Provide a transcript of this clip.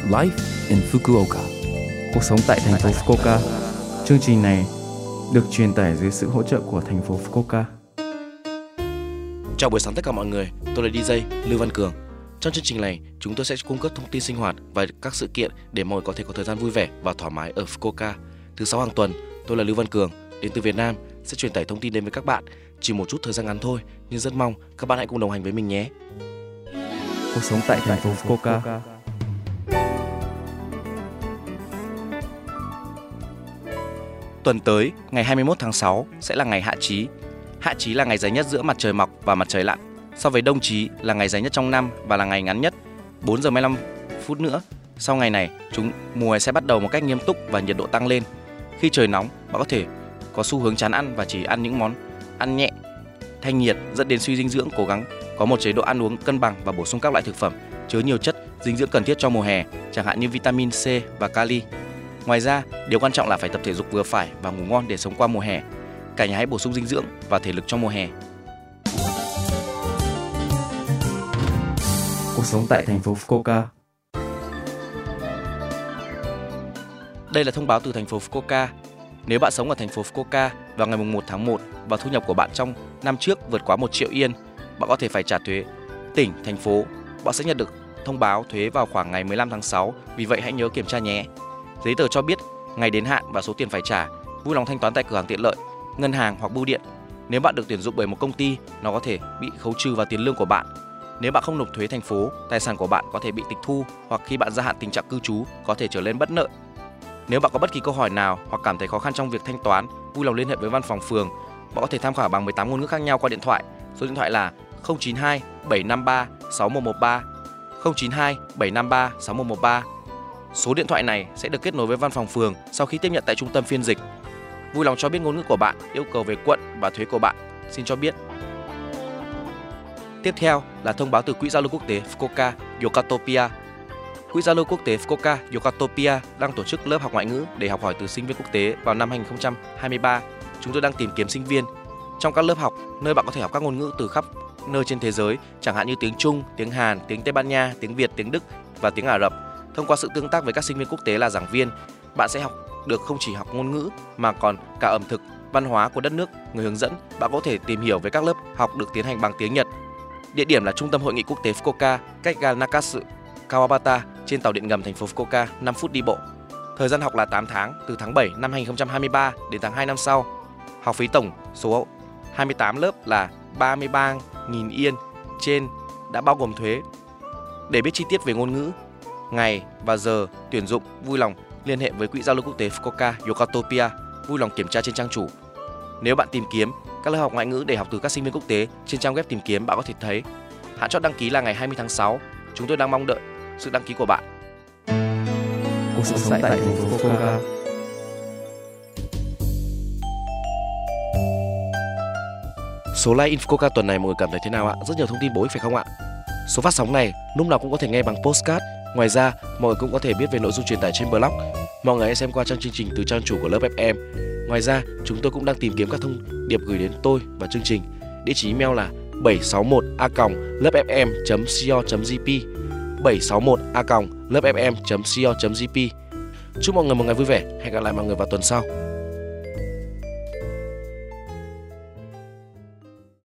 Life in Fukuoka. Cuộc sống tại thành phố Fukuoka. Chương trình này được truyền tải dưới sự hỗ trợ của thành phố Fukuoka. Chào buổi sáng tất cả mọi người, tôi là DJ Lưu Văn Cường. Trong chương trình này, chúng tôi sẽ cung cấp thông tin sinh hoạt và các sự kiện để mọi người có thể có thời gian vui vẻ và thoải mái ở Fukuoka. Thứ 6 hàng tuần, tôi là Lưu Văn Cường, đến từ Việt Nam, sẽ truyền tải thông tin đến với các bạn. Chỉ một chút thời gian ngắn thôi, nhưng rất mong các bạn hãy cùng đồng hành với mình nhé. Cuộc sống tại thành phố Fukuoka. Tuần tới, ngày 21 tháng 6 sẽ là ngày hạ chí. Hạ chí là ngày dài nhất giữa mặt trời mọc và mặt trời lặn. So với đông chí là ngày dài nhất trong năm và là ngày ngắn nhất, 4 giờ 15 phút nữa. Sau ngày này, mùa hè sẽ bắt đầu một cách nghiêm túc và nhiệt độ tăng lên. Khi trời nóng, bạn có thể có xu hướng chán ăn và chỉ ăn những món ăn nhẹ, thanh nhiệt, dẫn đến suy dinh dưỡng. Cố gắng có một chế độ ăn uống cân bằng và bổ sung các loại thực phẩm chứa nhiều chất dinh dưỡng cần thiết cho mùa hè, chẳng hạn như vitamin C và kali. Ngoài ra, điều quan trọng là phải tập thể dục vừa phải và ngủ ngon để sống qua mùa hè. Cả nhà hãy bổ sung dinh dưỡng và thể lực trong mùa hè. Cuộc sống tại thành phố Fukuoka. Đây là thông báo từ thành phố Fukuoka. Nếu bạn sống ở thành phố Fukuoka vào ngày 1 tháng 1 và thu nhập của bạn trong năm trước vượt quá 1 triệu yên, bạn có thể phải trả thuế tỉnh, thành phố. Bạn sẽ nhận được thông báo thuế vào khoảng ngày 15 tháng 6, vì vậy hãy nhớ kiểm tra nhé. Giấy tờ cho biết ngày đến hạn và số tiền phải trả. Vui lòng thanh toán tại cửa hàng tiện lợi, ngân hàng hoặc bưu điện. Nếu bạn được tuyển dụng bởi một công ty, nó có thể bị khấu trừ vào tiền lương của bạn. Nếu bạn không nộp thuế thành phố, tài sản của bạn có thể bị tịch thu, hoặc khi bạn gia hạn tình trạng cư trú có thể trở nên bất nợ. Nếu bạn có bất kỳ câu hỏi nào hoặc cảm thấy khó khăn trong việc thanh toán, vui lòng liên hệ với văn phòng phường. Bạn có thể tham khảo bằng 18 ngôn ngữ khác nhau qua điện thoại. Số điện thoại là 092 753 6113, 092 753 6113. Số điện thoại này sẽ được kết nối với văn phòng phường sau khi tiếp nhận tại trung tâm phiên dịch. Vui lòng cho biết ngôn ngữ của bạn, yêu cầu về quận và thuế của bạn. Xin cho biết. Tiếp theo là thông báo từ Quỹ giao lưu quốc tế Fukuoka Yokatopia. Quỹ giao lưu quốc tế Fukuoka Yokatopia đang tổ chức lớp học ngoại ngữ để học hỏi từ sinh viên quốc tế vào năm 2023. Chúng tôi đang tìm kiếm sinh viên trong các lớp học nơi bạn có thể học các ngôn ngữ từ khắp nơi trên thế giới, chẳng hạn như tiếng Trung, tiếng Hàn, tiếng Tây Ban Nha, tiếng Việt, tiếng Đức và tiếng Ả Rập. Thông qua sự tương tác với các sinh viên quốc tế là giảng viên, bạn sẽ học được không chỉ học ngôn ngữ mà còn cả ẩm thực, văn hóa của đất nước. Người hướng dẫn, bạn có thể tìm hiểu về các lớp học được tiến hành bằng tiếng Nhật. Địa điểm là Trung tâm Hội nghị Quốc tế Fukuoka, cách ga Nakasu, Kawabata trên tàu điện ngầm thành phố Fukuoka, 5 phút đi bộ. Thời gian học là 8 tháng, từ tháng 7 năm 2023 đến tháng 2 năm sau. Học phí tổng số 28 lớp là 33.000 yên trên đã bao gồm thuế. Để biết chi tiết về ngôn ngữ, ngày và giờ tuyển dụng, vui lòng liên hệ với Quỹ giao lưu quốc tế Fukuoka Yokatopia, vui lòng kiểm tra trên trang chủ. Nếu bạn tìm kiếm các lớp học ngoại ngữ để học từ các sinh viên quốc tế trên trang web tìm kiếm, bạn có thể thấy hạn chót đăng ký là ngày 20 tháng 6. Chúng tôi đang mong đợi sự đăng ký của bạn. Cuộc sống tại thành phố Fukuoka. Số like in Fukuoka tuần này mọi người cảm thấy thế nào ạ? Rất nhiều thông tin bổ ích phải không ạ? Số phát sóng này lúc nào cũng có thể nghe bằng podcast. Ngoài ra, mọi người cũng có thể biết về nội dung truyền tải trên blog. Mọi người hãy xem qua trang chương trình từ trang chủ của lớp FM. Ngoài ra, chúng tôi cũng đang tìm kiếm các thông điệp gửi đến tôi và chương trình. Địa chỉ email là 761a.lớpfm.co.jp, 761a.lớpfm.co.jp. Chúc mọi người một ngày vui vẻ. Hẹn gặp lại mọi người vào tuần sau.